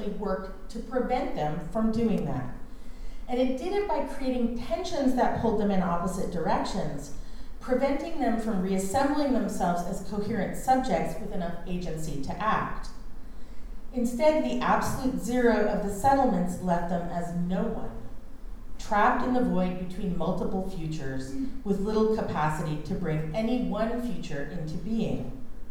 constantly worked to prevent them from doing that. And it did it by creating tensions that pulled them in opposite directions, preventing them from reassembling themselves as coherent subjects with enough agency to act. Instead, the absolute zero of the settlements left them as no one, trapped in the void between multiple futures with little capacity to bring any one future into being.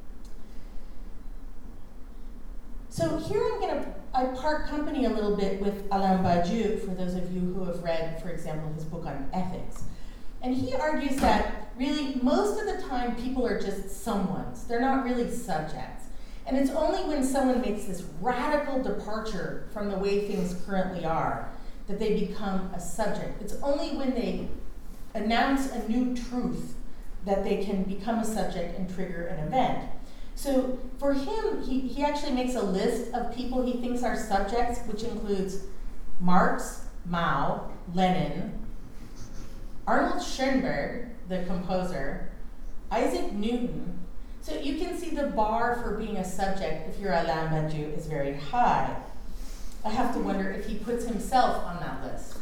So here I part company a little bit with Alain Badiou, for those of you who have read, for example, his book on ethics. And he argues that really most of the time people are just someones. They're not really subjects. And it's only when someone makes this radical departure from the way things currently are that they become a subject. It's only when they announce a new truth that they can become a subject and trigger an event. So for him, he actually makes a list of people he thinks are subjects, which includes Marx, Mao, Lenin, Arnold Schoenberg, the composer, Isaac Newton. So you can see the bar for being a subject, if you're Alain Badiou, is very high. I have to wonder if he puts himself on that list.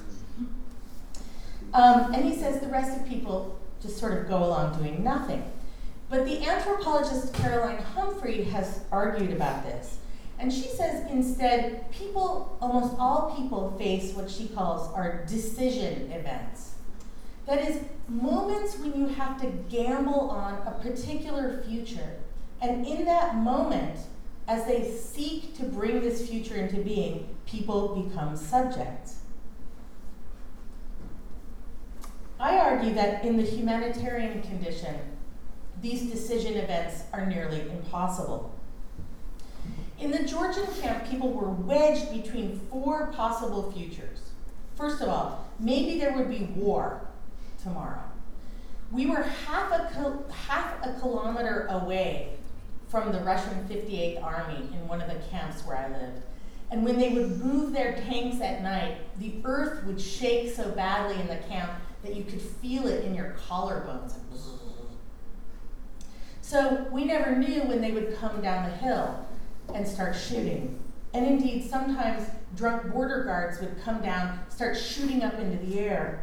And he says the rest of people just sort of go along doing nothing. But the anthropologist Caroline Humphrey has argued about this. And she says instead, people, almost all people, face what she calls our decision events. That is, moments when you have to gamble on a particular future. And in that moment, as they seek to bring this future into being, people become subjects. I argue that in the humanitarian condition, these decision events are nearly impossible. In the Georgian camp, people were wedged between four possible futures. First of all, maybe there would be war tomorrow. We were half a kilometer away from the Russian 58th Army in one of the camps where I lived. And when they would move their tanks at night, the earth would shake so badly in the camp that you could feel it in your collarbones. So we never knew when they would come down the hill and start shooting. And indeed, sometimes drunk border guards would come down, start shooting up into the air.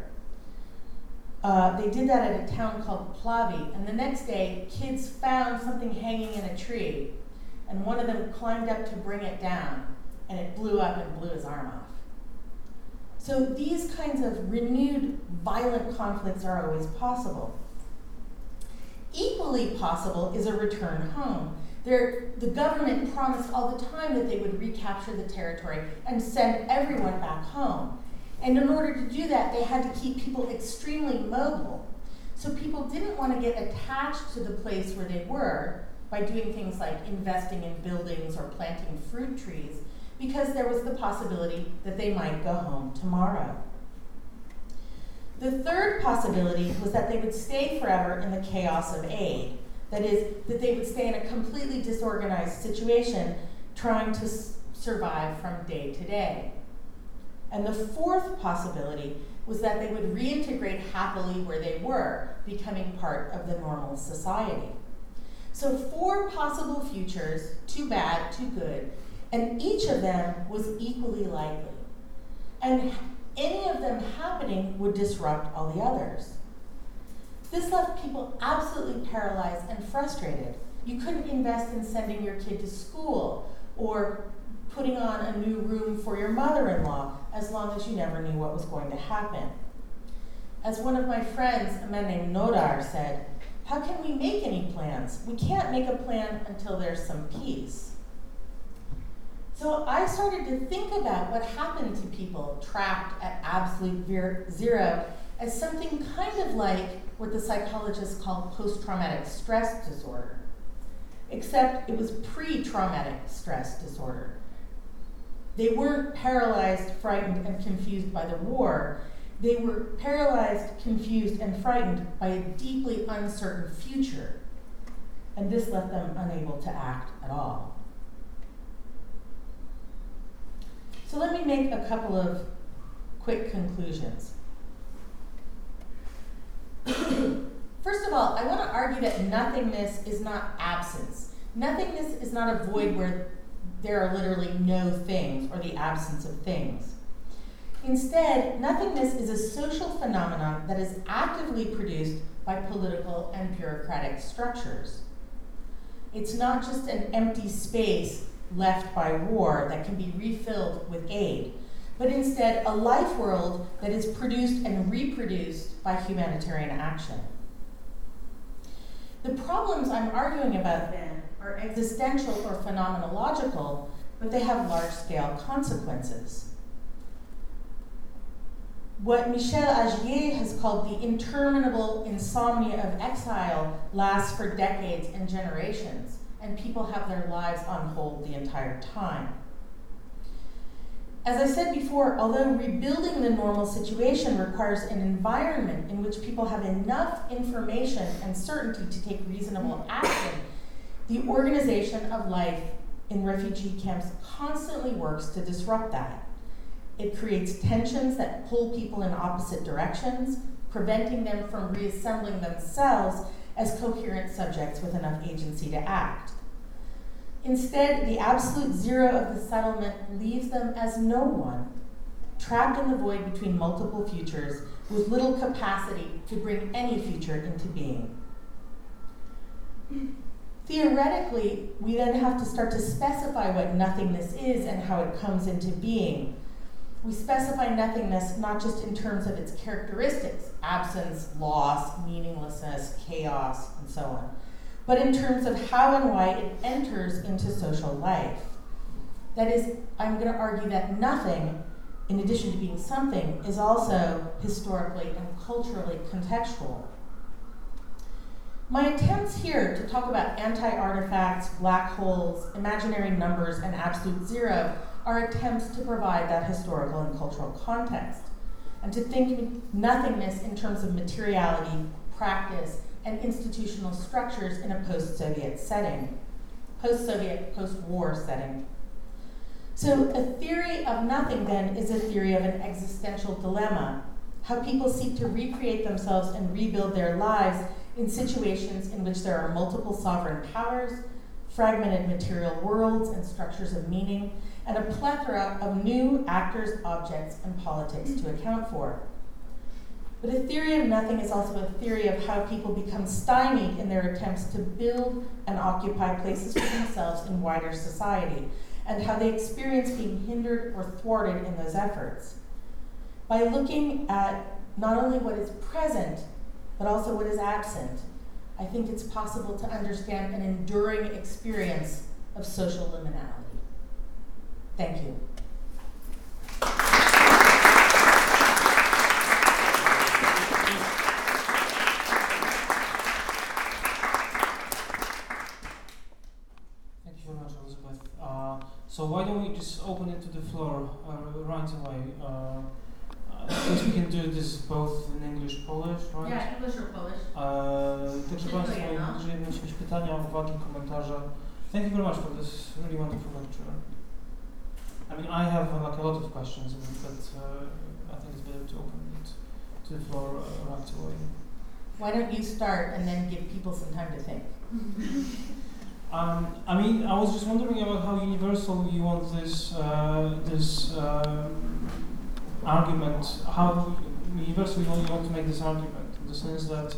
They did that at a town called Plavi, and the next day, kids found something hanging in a tree, and one of them climbed up to bring it down, and it blew up and blew his arm off. So these kinds of renewed violent conflicts are always possible. Equally possible is a return home. The government promised all the time that they would recapture the territory and send everyone back home. And in order to do that, they had to keep people extremely mobile. So people didn't want to get attached to the place where they were by doing things like investing in buildings or planting fruit trees, because there was the possibility that they might go home tomorrow. The third possibility was that they would stay forever in the chaos of aid. That is, that they would stay in a completely disorganized situation, trying to survive from day to day. And the fourth possibility was that they would reintegrate happily where they were, becoming part of the normal society. So 4 possible futures, 2 bad, 2 good, and each of them was equally likely. And any of them happening would disrupt all the others. This left people absolutely paralyzed and frustrated. You couldn't invest in sending your kid to school or putting on a new room for your mother-in-law as long as you never knew what was going to happen. As one of my friends, a man named Nodar, said, "How can we make any plans? We can't make a plan until there's some peace." So I started to think about what happened to people trapped at absolute zero as something kind of like what the psychologists call post-traumatic stress disorder, except it was pre-traumatic stress disorder. They weren't paralyzed, frightened, and confused by the war. They were paralyzed, confused, and frightened by a deeply uncertain future, and this left them unable to act at all. So let me make a couple of quick conclusions. First of all, I want to argue that nothingness is not absence. Nothingness is not a void where there are literally no things or the absence of things. Instead, nothingness is a social phenomenon that is actively produced by political and bureaucratic structures. It's not just an empty space left by war that can be refilled with aid, but instead a life world that is produced and reproduced by humanitarian action. The problems I'm arguing about then are existential or phenomenological, but they have large-scale consequences. What Michel Agier has called the interminable insomnia of exile lasts for decades and generations, and people have their lives on hold the entire time. As I said before, although rebuilding the normal situation requires an environment in which people have enough information and certainty to take reasonable action, the organization of life in refugee camps constantly works to disrupt that. It creates tensions that pull people in opposite directions, preventing them from reassembling themselves as coherent subjects with enough agency to act. Instead, the absolute zero of the settlement leaves them as no one, trapped in the void between multiple futures with little capacity to bring any future into being. Theoretically, we then have to start to specify what nothingness is and how it comes into being. We specify nothingness not just in terms of its characteristics, absence, loss, meaninglessness, chaos, and so on, but in terms of how and why it enters into social life. That is, I'm going to argue that nothing, in addition to being something, is also historically and culturally contextual. My attempts here to talk about anti-artifacts, black holes, imaginary numbers, and absolute zero are attempts to provide that historical and cultural context, and to think nothingness in terms of materiality, practice, and institutional structures in a post-Soviet setting, post-Soviet, post-war setting. So a theory of nothing, then, is a theory of an existential dilemma, how people seek to recreate themselves and rebuild their lives in situations in which there are multiple sovereign powers, fragmented material worlds and structures of meaning, and a plethora of new actors, objects, and politics to account for. But a theory of nothing is also a theory of how people become stymied in their attempts to build and occupy places for themselves in wider society, and how they experience being hindered or thwarted in those efforts. By looking at not only what is present, but also what is absent, I think it's possible to understand an enduring experience of social liminality. Thank you. Thank you very much, Elizabeth. So why don't we just open it to the floor right away? Since we can do this both in English, Polish, right? Yeah, English or Polish. Także Państwo, jeżeli macie jakieś pytania, uwagi, komentarze. Thank you very much for this really wonderful lecture. I mean, I have like a lot of questions, but I think it's better to open it to the floor right away. Why don't you start and then give people some time to think? I mean, I was just wondering about how universal you want this argument, how universally you want to make this argument, in the sense that,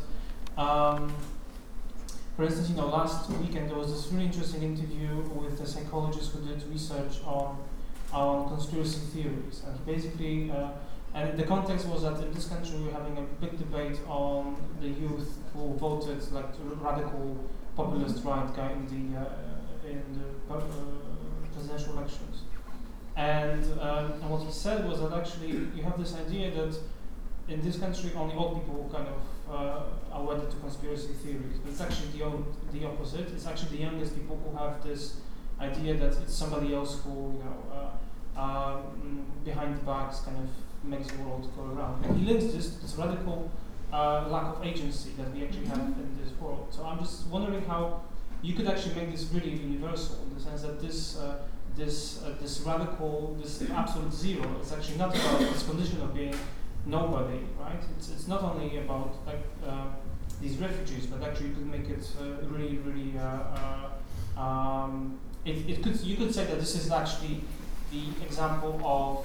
for instance, last weekend there was this really interesting interview with a psychologist who did research on conspiracy theories, and he basically, and the context was that in this country we're having a big debate on the youth who voted like radical populist right guy in the presidential elections. And what he said was that actually you have this idea that in this country only old people kind of are wedded to conspiracy theories, but it's actually the opposite. It's actually the youngest people who have this idea that it's somebody else who, behind the backs kind of makes the world go around. And he links this radical lack of agency that we actually have in this world. So I'm just wondering how you could actually make this really universal, in the sense that this radical, this absolute zero is actually not about this condition of being nobody, right? It's not only about like these refugees, but actually you could make it really you could say that this is actually the example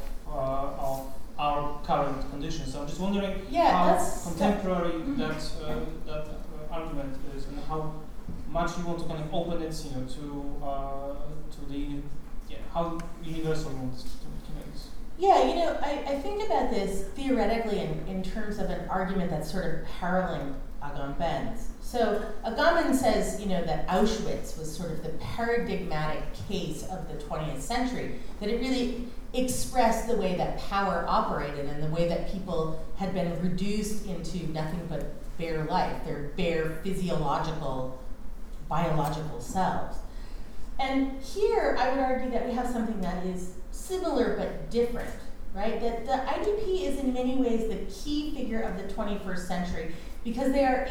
of our current conditions. So I'm just wondering how contemporary that argument is, and how much you want to kind of open it, to the how universal you want to make this. Yeah, I think about this theoretically in terms of an argument that's sort of paralleling Agamben's. So Agamben says, that Auschwitz was sort of the paradigmatic case of the 20th century, that it really expressed the way that power operated and the way that people had been reduced into nothing but bare life, their bare physiological, biological selves. And here I would argue that we have something that is similar but different, right? That the IDP is in many ways the key figure of the 21st century because they are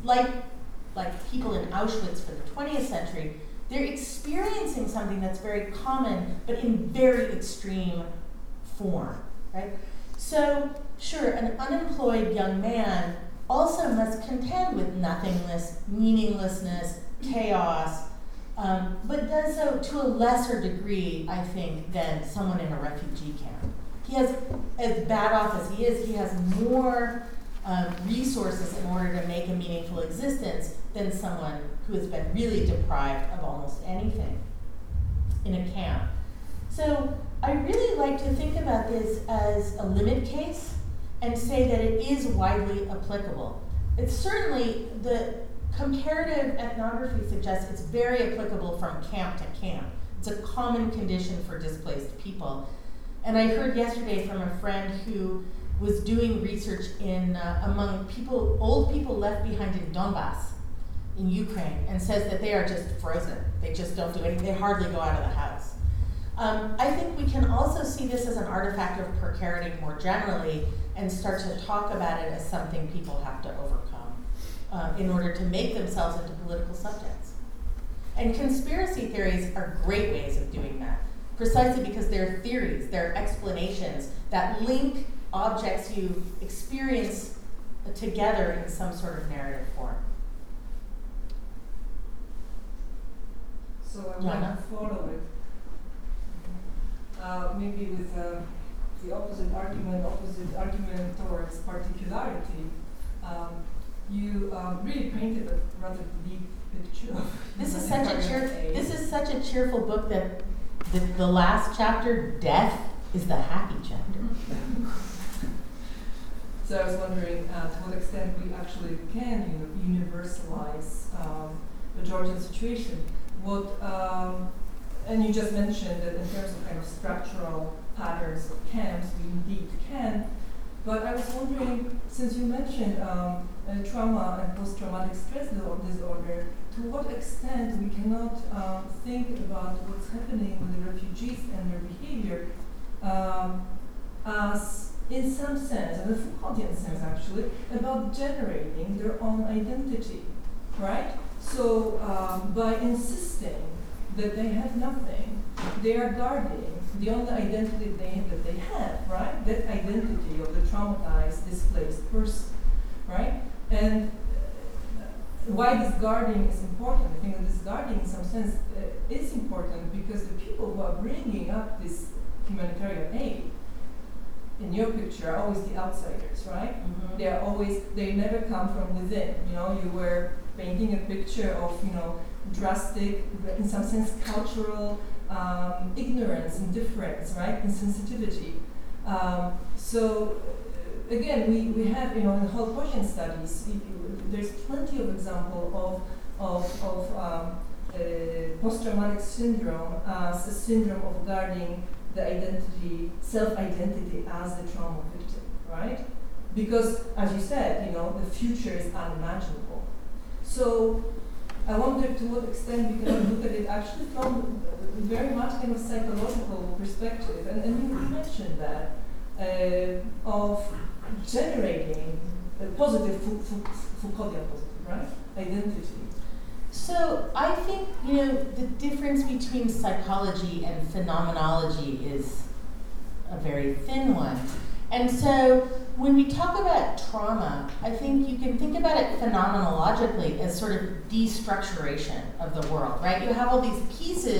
like people in Auschwitz for the 20th century, they're experiencing something that's very common but in very extreme form, right? So sure, an unemployed young man also must contend with nothingness, meaninglessness, chaos, but does so to a lesser degree, I think, than someone in a refugee camp. He has, as bad off as he has more resources in order to make a meaningful existence than someone who has been really deprived of almost anything in a camp. So I really like to think about this as a limit case and say that it is widely applicable. It's certainly, the comparative ethnography suggests it's very applicable from camp to camp. It's a common condition for displaced people. And I heard yesterday from a friend who was doing research in among old people left behind in Donbass, in Ukraine, and says that they are just frozen. They just don't do anything. They hardly go out of the house. I think we can also see this as an artifact of precarity more generally and start to talk about it as something people have to overcome in order to make themselves into political subjects. And conspiracy theories are great ways of doing that, precisely because they're theories, they're explanations that link objects you experience together in some sort of narrative form. So I want to follow it. Maybe with the opposite argument towards particularity. You really painted a rather bleak picture of this is such a cheerful book that the last chapter, death, is the happy chapter. So I was wondering to what extent we actually can universalize the Georgian situation. And you just mentioned that in terms of kind of structural patterns of camps, we indeed can. But I was wondering, since you mentioned trauma and post-traumatic stress disorder, to what extent we cannot think about what's happening with the refugees and their behavior as, in some sense, in a Foucauldian sense actually, about generating their own identity, right? So by insisting that they have nothing, they are guarding the only identity that they have, right? That identity of the traumatized, displaced person, right? And why this guarding is important, I think that this guarding in some sense is important because the people who are bringing up this humanitarian aid in your picture are always the outsiders, right? Mm-hmm. They never come from within. You were painting a picture of, drastic, in some sense, cultural ignorance, indifference, right? Insensitivity. So again, we have, in the whole Gaussian studies, there's plenty of example of post-traumatic syndrome as a syndrome of guarding the identity, self-identity as the trauma victim, right? Because, as you said, the future is unimaginable. So I wonder to what extent we can look at it actually from very much kind of psychological perspective, and you mentioned that of generating a positive Foucauldian positive, right? Identity. So I think, the difference between psychology and phenomenology is a very thin one. And so when we talk about trauma, I think you can think about it phenomenologically as sort of destructuration of the world, right? You have all these pieces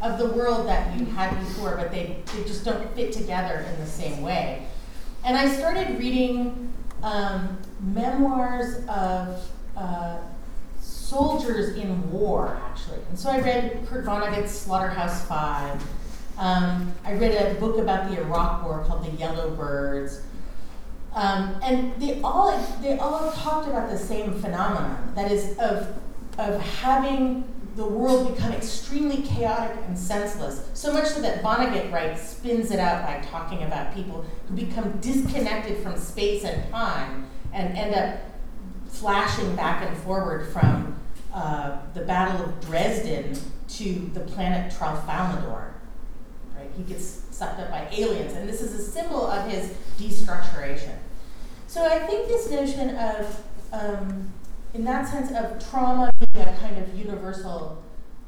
of the world that you had before, but they just don't fit together in the same way. And I started reading memoirs of soldiers in war, actually. And so I read Kurt Vonnegut's Slaughterhouse-Five. I read a book about the Iraq War called The Yellow Birds. And they all talked about the same phenomenon, that is of having the world become extremely chaotic and senseless, so much so that Vonnegut spins it out by talking about people who become disconnected from space and time and end up flashing back and forward from the Battle of Dresden to the planet Tralfamadore. Right? He gets sucked up by aliens, and this is a symbol of his destructuration. So I think this notion of, in that sense, of trauma being a kind of universal,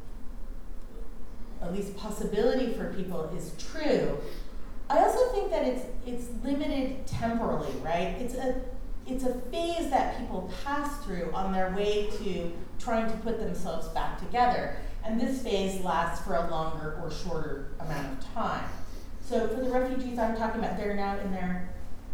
at least possibility for people is true. I also think that it's limited temporally, right? It's a phase that people pass through on their way to trying to put themselves back together. And this phase lasts for a longer or shorter amount of time. So for the refugees I'm talking about, they're now in their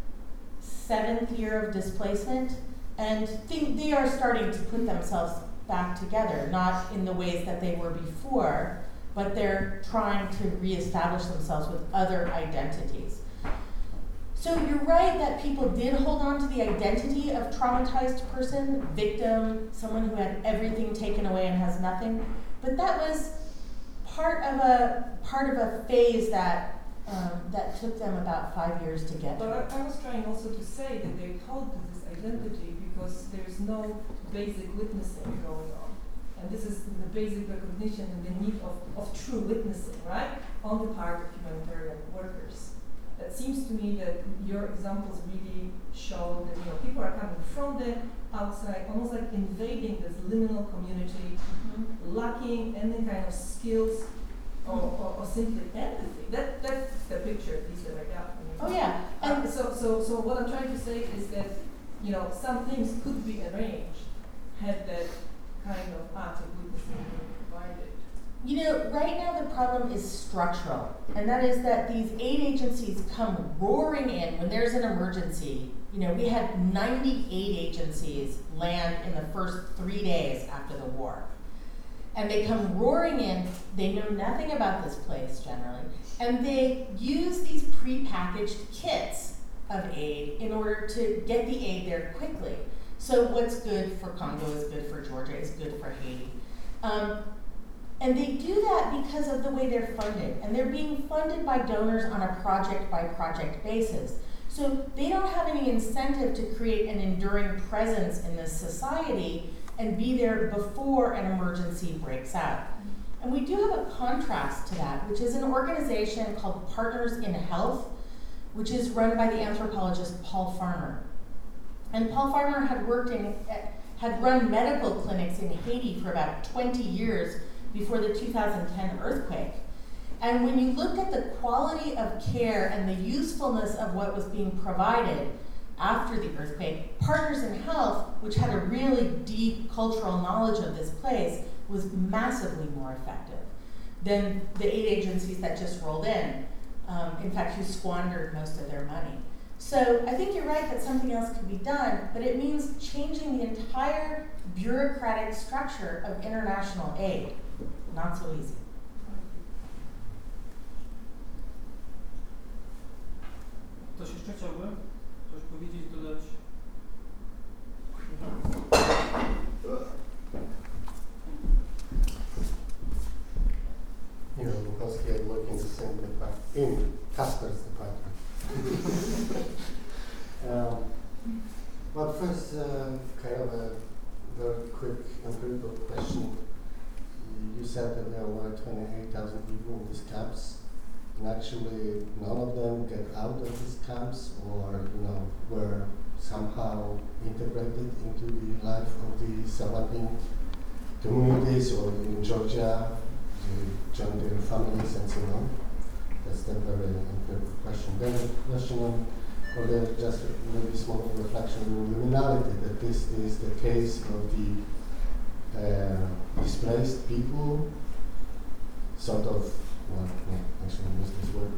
7th year of displacement, and they are starting to put themselves back together, not in the ways that they were before, but they're trying to reestablish themselves with other identities. So you're right that people did hold on to the identity of traumatized person, victim, someone who had everything taken away and has nothing, but that was part of a phase that took them about 5 years to get to. But I was trying also to say that they hold to this identity because there's no basic witnessing going on. And this is the basic recognition and the need of true witnessing, right, on the part of humanitarian workers. It seems to me that your examples really show that people are coming from the outside, almost like invading this liminal community, lacking any kind of skills or simply empathy. That's the picture at least that I got from you. Oh yeah. And so what I'm trying to say is that some things could be arranged had that kind of active witnessing been provided. Right now the problem is structural, and that is that these aid agencies come roaring in when there's an emergency. We had 98 agencies land in the first 3 days after the war. And they come roaring in, they know nothing about this place generally, and they use these prepackaged kits of aid in order to get the aid there quickly. So what's good for Congo is good for Georgia, is good for Haiti. And they do that because of the way they're funded. And they're being funded by donors on a project-by-project basis. So they don't have any incentive to create an enduring presence in this society and be there before an emergency breaks out. And we do have a contrast to that, which is an organization called Partners in Health, which is run by the anthropologist Paul Farmer. And Paul Farmer had run medical clinics in Haiti for about 20 years before the 2010 earthquake. And when you looked at the quality of care and the usefulness of what was being provided after the earthquake, Partners in Health, which had a really deep cultural knowledge of this place, was massively more effective than the aid agencies that just rolled in. In fact, who squandered most of their money. So I think you're right that something else could be done, but it means changing the entire bureaucratic structure of international aid. Not so easy. Ktoś jeszcze chciałby coś powiedzieć, dodać? Bukowski, I work in the same department, in Kasper's department. But first, kind of a very quick empirical question. You said that there were 28,000 people in these camps, and actually none of them get out of these camps, or were somehow integrated into the life of the surrounding communities, or in Georgia, they join their families and so on. That's the very empirical question. Then a question on, or just maybe small reflection on liminality, that this is the case of the displaced people sort of, well, no, actually use this word,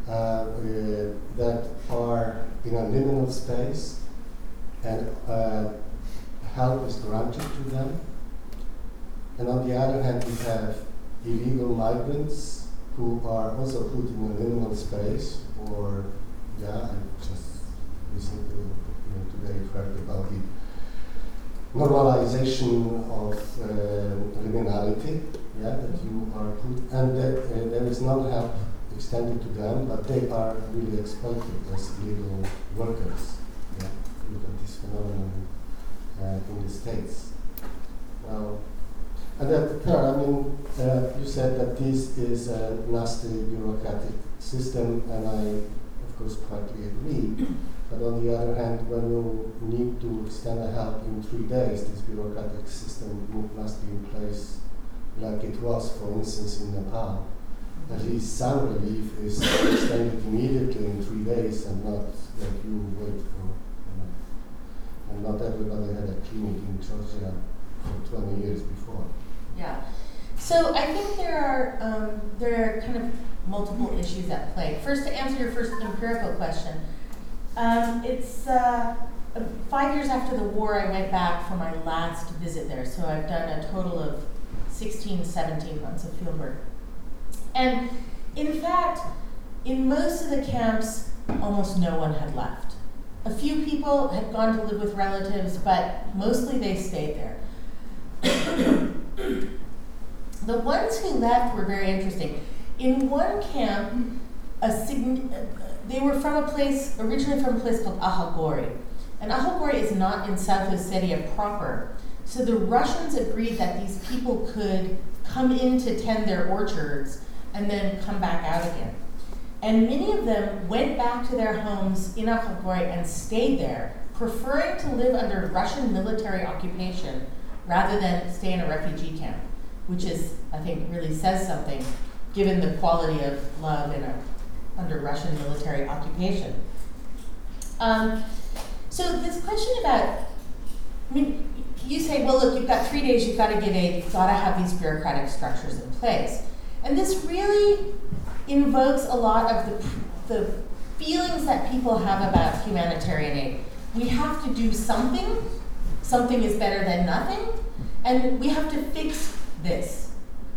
that are in a liminal space, and help is granted to them. And on the other hand, we have illegal migrants who are also put in a liminal space, or, I just recently, today heard about the normalization of criminality, that you are put, and there is no help extended to them, but they are really exploited as illegal workers. Look at this phenomenon in the States. Well, and that, you said that this is a nasty bureaucratic system, and I, of course, partly agree. But on the other hand, when you need to extend a help in 3 days, this bureaucratic system must be in place like it was, for instance, in Nepal. At least some relief is extended immediately in 3 days, and not that you wait for, and not everybody had a clinic in Georgia for 20 years before. Yeah. So I think there are kind of multiple issues at play. First, to answer your first empirical question, it's 5 years after the war, I went back for my last visit there. So I've done a total of 16, 17 months of field work. And in fact, in most of the camps, almost no one had left. A few people had gone to live with relatives, but mostly they stayed there. The ones who left were very interesting. In one camp, they were originally from a place called Ahagori. And Ahagori is not in South Ossetia proper. So the Russians agreed that these people could come in to tend their orchards and then come back out again. And many of them went back to their homes in Ahagori and stayed there, preferring to live under Russian military occupation rather than stay in a refugee camp, which is, I think, really says something given the quality of love under Russian military occupation. So this question about, you say, well, look, you've got 3 days, you've got to give aid, you've got to have these bureaucratic structures in place. And this really invokes a lot of the feelings that people have about humanitarian aid. We have to do something. Something is better than nothing. And we have to fix this.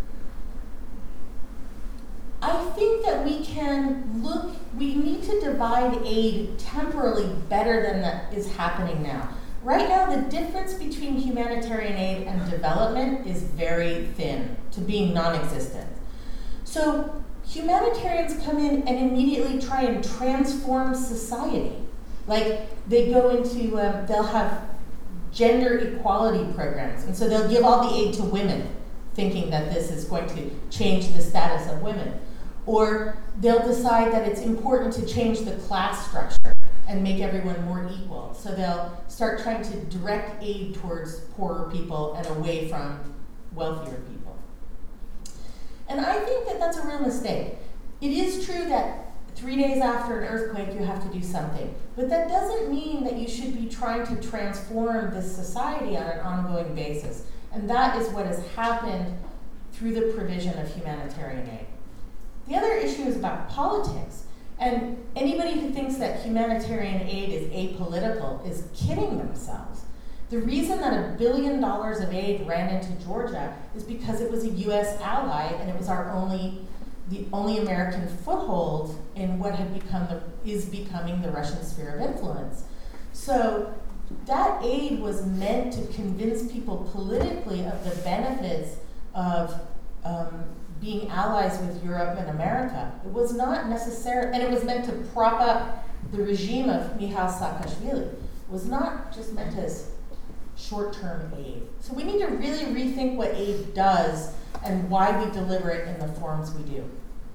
I think that we need to divide aid temporally better than that is happening now. Right now, the difference between humanitarian aid and development is very thin to being non-existent. So humanitarians come in and immediately try and transform society. Like they go into, they'll have gender equality programs, and so they'll give all the aid to women, thinking that this is going to change the status of women. Or they'll decide that it's important to change the class structure and make everyone more equal. So they'll start trying to direct aid towards poorer people and away from wealthier people. And I think that that's a real mistake. It is true that 3 days after an earthquake, you have to do something. But that doesn't mean that you should be trying to transform this society on an ongoing basis. And that is what has happened through the provision of humanitarian aid. The other issue is about politics. And anybody who thinks that humanitarian aid is apolitical is kidding themselves. The reason that $1 billion of aid ran into Georgia is because it was a U.S. ally and it was the only American foothold in what is becoming the Russian sphere of influence. So that aid was meant to convince people politically of the benefits of being allies with Europe and America. It was not necessary, and it was meant to prop up the regime of Mikhail Saakashvili. It was not just meant as short-term aid. So we need to really rethink what aid does and why we deliver it in the forms we do.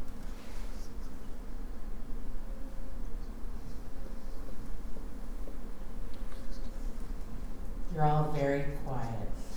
You're all very quiet.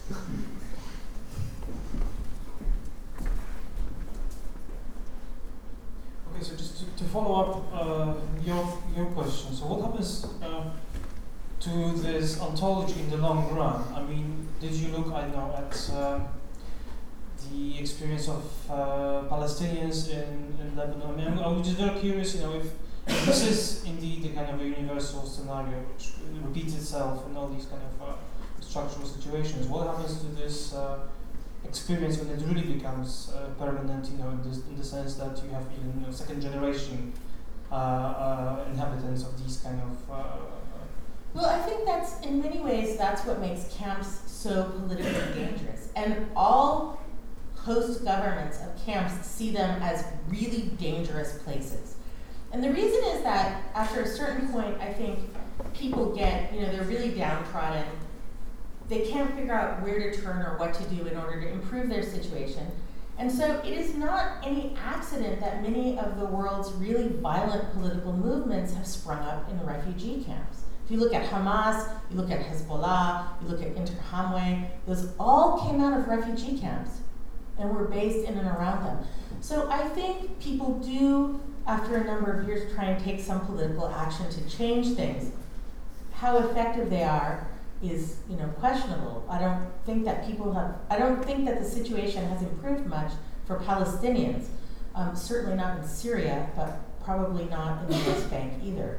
Okay, so just to follow up your question. So what happens to this ontology in the long run? I mean, did you look, I don't know, at the experience of Palestinians in Lebanon. I mean, I'm just very curious, if this is indeed the kind of a universal scenario which repeats itself in all these kind of structural situations. What happens to this experience when it really becomes permanent? In the sense that you have even second generation inhabitants of these kind of. Well, I think in many ways, that's what makes camps so politically dangerous. And all host governments of camps see them as really dangerous places. And the reason is that after a certain point, I think people get, they're really downtrodden. They can't figure out where to turn or what to do in order to improve their situation. And so it is not any accident that many of the world's really violent political movements have sprung up in refugee camps. If you look at Hamas, you look at Hezbollah, you look at Interhamwe, those all came out of refugee camps and were based in and around them. So I think people do, after a number of years, try and take some political action to change things. How effective they are is, questionable. I don't think that the situation has improved much for Palestinians. Certainly not in Syria, but probably not in the West Bank either.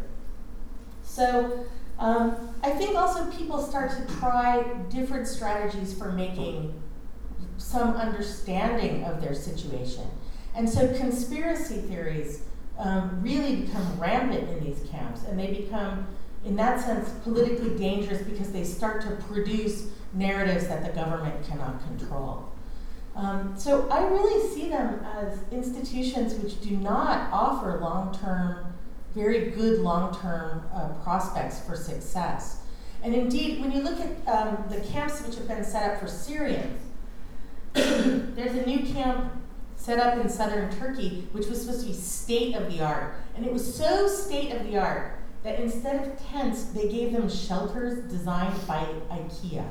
So I think also people start to try different strategies for making some understanding of their situation. And so conspiracy theories really become rampant in these camps, and they become, in that sense, politically dangerous because they start to produce narratives that the government cannot control. So I really see them as institutions which do not offer very good long-term prospects for success. And indeed, when you look at the camps which have been set up for Syrians, there's a new camp set up in southern Turkey, which was supposed to be state-of-the-art. And it was so state-of-the-art that instead of tents, they gave them shelters designed by IKEA.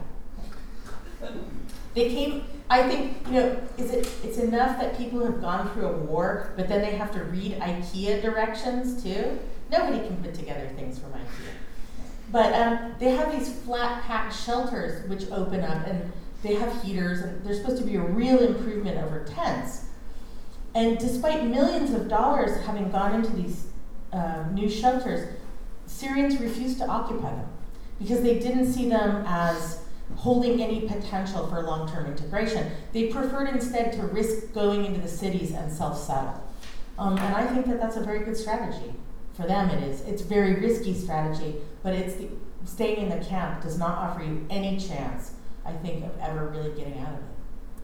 They came, I think, it's enough that people have gone through a war, but then they have to read IKEA directions too. Nobody can put together things from IKEA. But they have these flat pack shelters which open up, and they have heaters, and they're supposed to be a real improvement over tents. And despite millions of dollars having gone into these new shelters, Syrians refused to occupy them because they didn't see them as holding any potential for long-term integration. They preferred instead to risk going into the cities and self-settle. And I think that that's a very good strategy. For them it is. It's a very risky strategy, but staying in the camp does not offer you any chance, I think, of ever really getting out of it.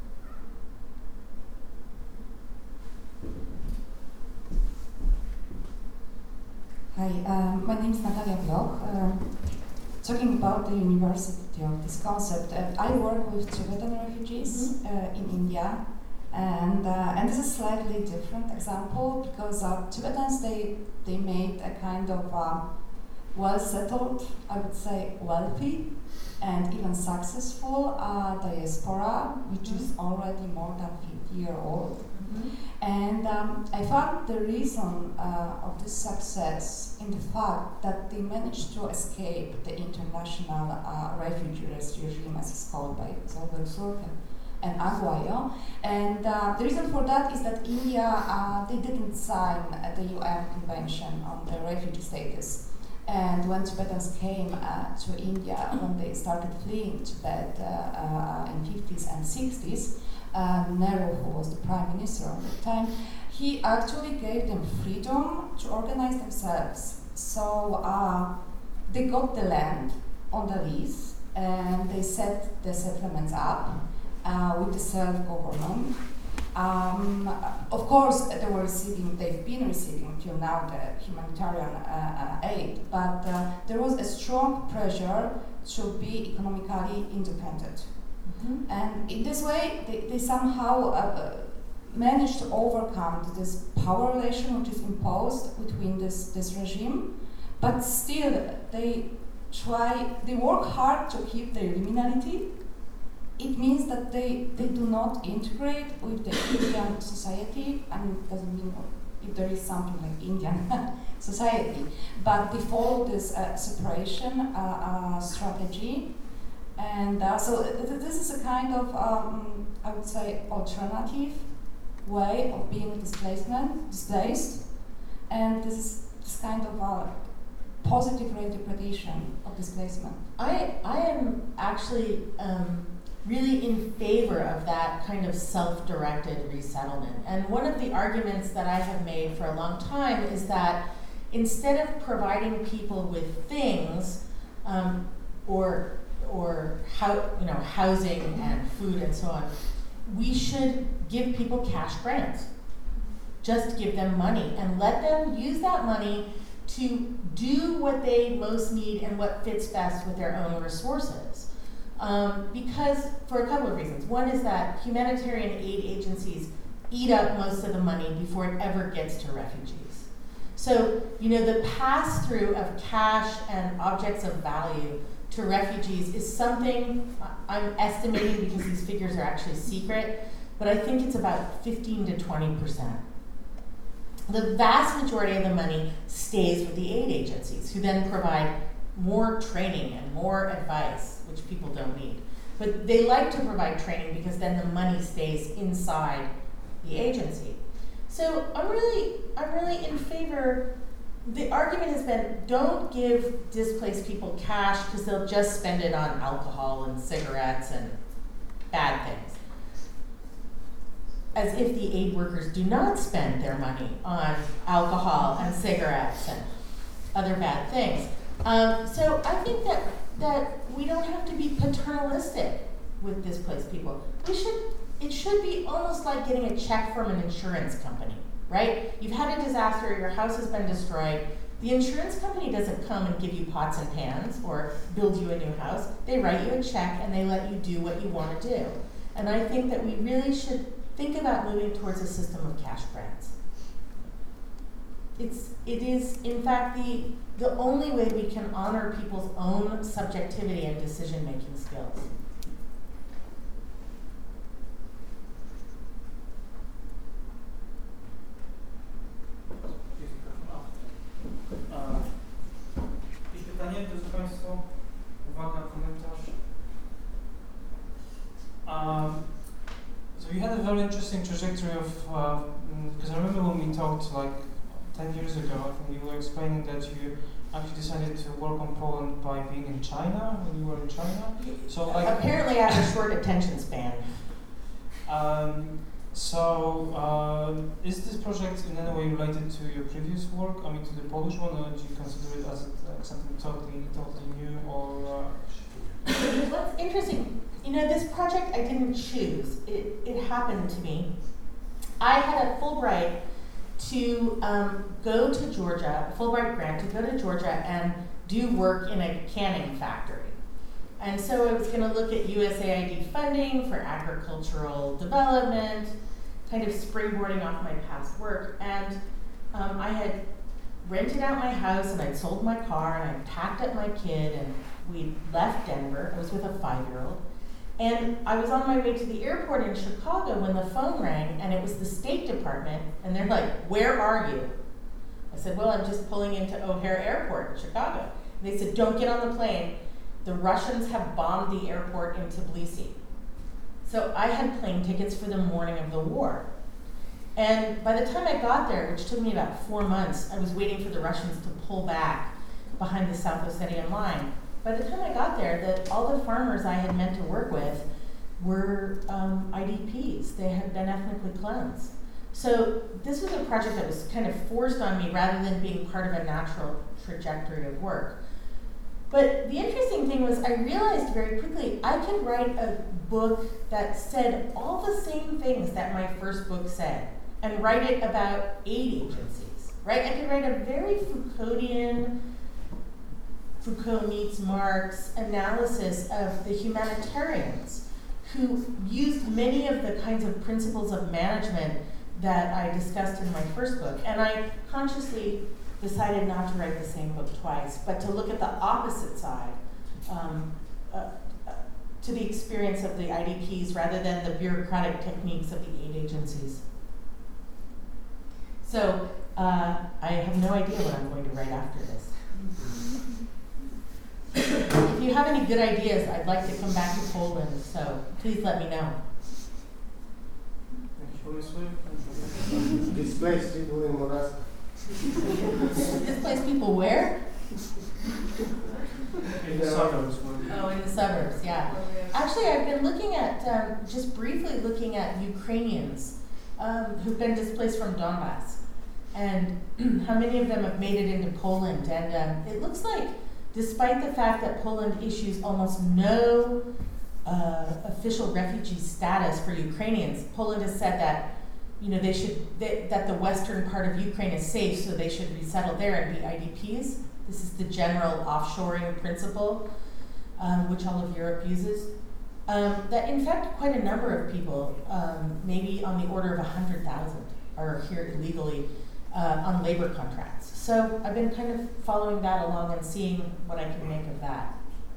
Hi, my name is Natalia Bloch. Talking about the university of this concept, I work with Tibetan refugees in India, and this is a slightly different example because Tibetans they made a kind of well-settled, I would say wealthy, and even successful diaspora, which is already more than 50-year-old. And I found the reason of this success in the fact that they managed to escape the international refugee regime, as it's called by Zolberg Surken and Aguayo. And the reason for that is that India, they didn't sign the UN Convention on the refugee status. And when Tibetans came to India, when they started fleeing Tibet in 50s and 60s, Nehru, who was the prime minister at the time, he actually gave them freedom to organize themselves. So they got the land on the lease, and they set the settlements up with the self-government. Of course, they've been receiving till now the humanitarian aid, but there was a strong pressure to be economically independent. And in this way, they somehow managed to overcome this power relation which is imposed between this regime, but still they work hard to keep their liminality. It means that they do not integrate with the Indian society, and it doesn't mean if there is something like Indian society, but they follow this separation strategy. And so this is a kind of, I would say, alternative way of being displaced, and this is this kind of a positive reinterpretation of displacement. I am actually really in favor of that kind of self-directed resettlement. And one of the arguments that I have made for a long time is that instead of providing people with things or housing and food and so on, we should give people cash grants. Just give them money and let them use that money to do what they most need and what fits best with their own resources. Because for a couple of reasons. One is that humanitarian aid agencies eat up most of the money before it ever gets to refugees. So, the pass-through of cash and objects of value to refugees is something I'm estimating, because these figures are actually secret, but I think it's about 15 to 20%. The vast majority of the money stays with the aid agencies, who then provide more training and more advice, which people don't need. But they like to provide training because then the money stays inside the agency. So I'm really in favor. The argument has been, don't give displaced people cash because they'll just spend it on alcohol and cigarettes and bad things. As if the aid workers do not spend their money on alcohol and cigarettes and other bad things. So I think that we don't have to be paternalistic with displaced people. It should be almost like getting a check from an insurance company, right? You've had a disaster, your house has been destroyed. The insurance company doesn't come and give you pots and pans or build you a new house. They write you a check and they let you do what you want to do. And I think that we really should think about moving towards a system of cash grants. It is, in fact, the only way we can honor people's own subjectivity and decision-making skills. Jakieś pytanie, drodzy Państwo? Uwaga, komentarz? So you had a very interesting trajectory of, because I remember when we talked like 10 years ago, I think you were explaining that you actually decided to work on Poland by being in China, when you were in China. So like apparently I have a short attention span. Is this project in any way related to your previous work? I mean, to the Polish one, or do you consider it as something totally new, or? What's interesting, this project I didn't choose. It happened to me. I had a Fulbright to go to Georgia, a Fulbright grant to go to Georgia and do work in a canning factory. And so I was going to look at USAID funding for agricultural development, kind of springboarding off my past work. And I had rented out my house and I'd sold my car and I packed up my kid and we left Denver. I was with a 5-year-old. And I was on my way to the airport in Chicago when the phone rang, and it was the State Department, and they're like, "Where are you?" I said, "Well, I'm just pulling into O'Hare Airport in Chicago." And they said, "Don't get on the plane. The Russians have bombed the airport in Tbilisi." So I had plane tickets for the morning of the war. And by the time I got there, which took me about 4 months, I was waiting for the Russians to pull back behind the South Ossetian line. By the time I got there, all the farmers I had meant to work with were IDPs. They had been ethnically cleansed. So this was a project that was kind of forced on me rather than being part of a natural trajectory of work. But the interesting thing was I realized very quickly I could write a book that said all the same things that my first book said and write it about aid agencies, right? I could write a very Foucauldian, Foucault meets Marx analysis of the humanitarians who used many of the kinds of principles of management that I discussed in my first book. And I consciously decided not to write the same book twice, but to look at the opposite side, to the experience of the IDPs rather than the bureaucratic techniques of the aid agencies. So I have no idea what I'm going to write after this. if you have any good ideas, I'd like to come back to Poland, so please let me know. Displaced people in Moravia. Displaced people where? In the suburbs. Oh, in the suburbs, yeah. Actually, I've been looking at, just briefly looking at Ukrainians who've been displaced from Donbass and how many of them have made it into Poland. And it looks like, despite the fact that Poland issues almost no official refugee status for Ukrainians, Poland has said that that the western part of Ukraine is safe, so they should resettle there and be IDPs. This is the general offshoring principle, which all of Europe uses. That in fact, quite a number of people, maybe on the order of 100,000, are here illegally on labor contracts. So I've been kind of following that along and seeing what I can make of that.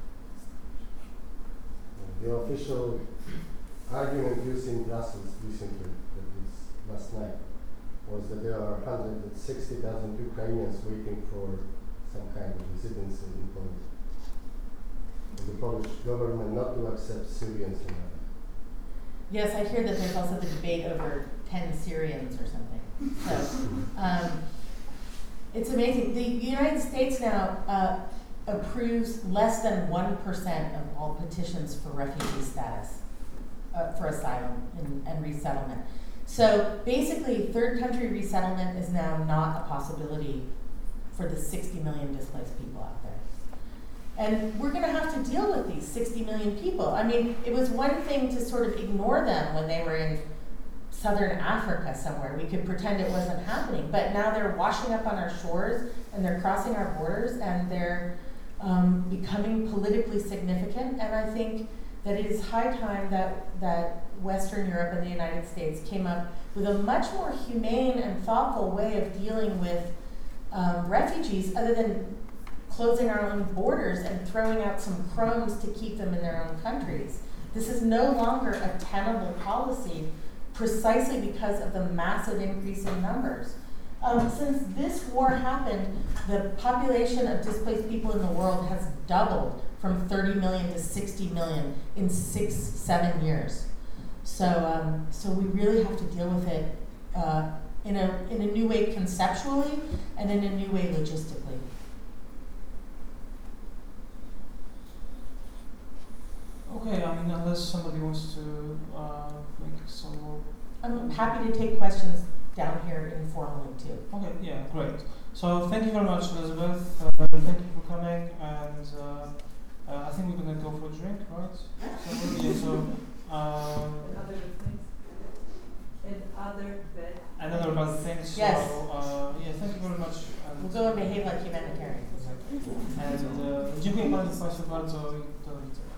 The official argument used in Brussels recently, that is last night, was that there are 160,000 Ukrainians waiting for some kind of residency in Poland. And the Polish government not to accept Syrians in that. Yes, I hear that there's also the debate over 10 Syrians or something. So it's amazing. The United States now approves less than 1% of all petitions for refugee status, for asylum and resettlement. So basically, third country resettlement is now not a possibility for the 60 million displaced people out there. And we're going to have to deal with these 60 million people. I mean, it was one thing to sort of ignore them when they were in southern Africa somewhere. We could pretend it wasn't happening. But now they're washing up on our shores, and they're crossing our borders, and they're becoming politically significant. And I think that it is high time that Western Europe and the United States came up with a much more humane and thoughtful way of dealing with refugees, other than closing our own borders and throwing out some crumbs to keep them in their own countries. This is no longer a tenable policy, precisely because of the massive increase in numbers. Since this war happened, the population of displaced people in the world has doubled from 30 million to 60 million in 6-7 years. So we really have to deal with it in a new way conceptually and in a new way logistically. Okay, I mean, unless somebody wants to make some more. I'm happy to take questions down here informally too. Okay, yeah, great. So thank you very much, Elizabeth. Thank you for coming, and I think we're gonna go for a drink, right? And other bad things. Yes. So yeah, thank you very much. We'll go and behave like humanitarians. And dziękuję Państwu bardzo i do widzenia.